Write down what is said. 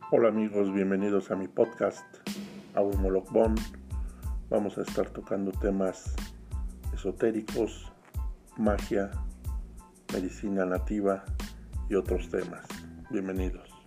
Hola amigos, bienvenidos a mi podcast, Awimolokbon. Vamos a estar tocando temas esotéricos, magia, medicina nativa y otros temas. Bienvenidos.